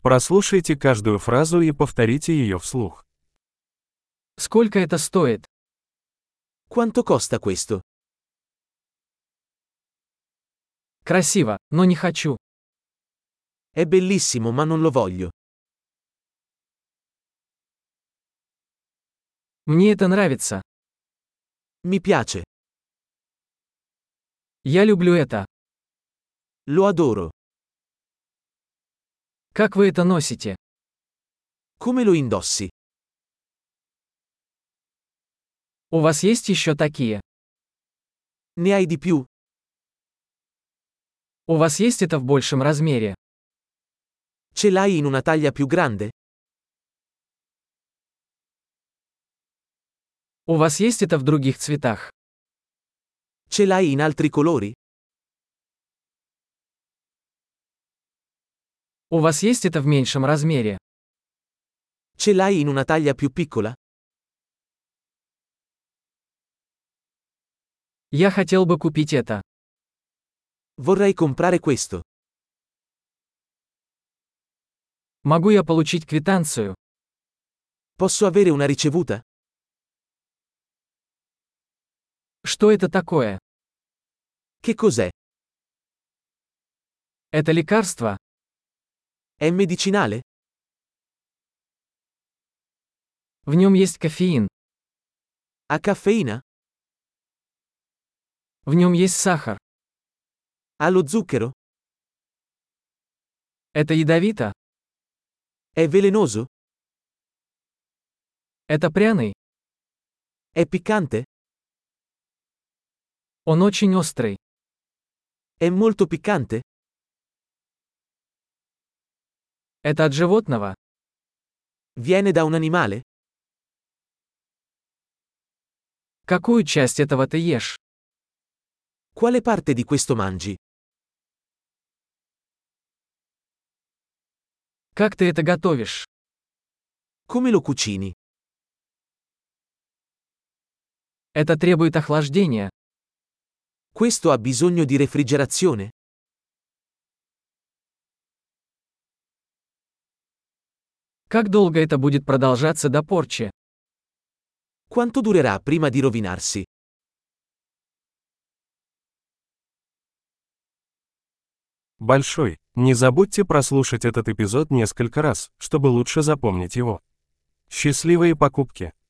Прослушайте каждую фразу и повторите ее вслух. Сколько это стоит? Quanto costa questo? Красиво, но не хочу. È bellissimo ma non lo voglio. Мне это нравится. Mi piace. Я люблю это. Lo adoro. Как вы это носите? Come lo indossi? У вас есть еще такие? Ne hai di più? У вас есть это в большем размере? Ce l'hai in una taglia più grande? У вас есть это в других цветах? Ce l'hai in altri colori? У вас есть это в меньшем размере? Ce l'hai in una taglia più piccola? Я хотел бы купить это. Vorrei comprare questo. Могу я получить квитанцию? Posso avere una ricevuta? Что это такое? Che cos'è? Это лекарство? È medicinale? В нем есть кофеин. Ha caffeina? В нем есть сахар. Ha lo zucchero? Это ядовито? È velenoso? Это пряный? È piccante? Он очень острый. È molto piccante? Это от животного? Viene da un animale? Какую часть этого ты ешь? Quale parte di questo mangi? Как ты это готовишь? Come lo cucini? Это требует охлаждения. Questo ha bisogno di refrigerazione? Как долго это будет продолжаться до порчи? Quanto durerà prima di rovinarsi? Большой. Не забудьте прослушать этот эпизод несколько раз, чтобы лучше запомнить его. Счастливые покупки!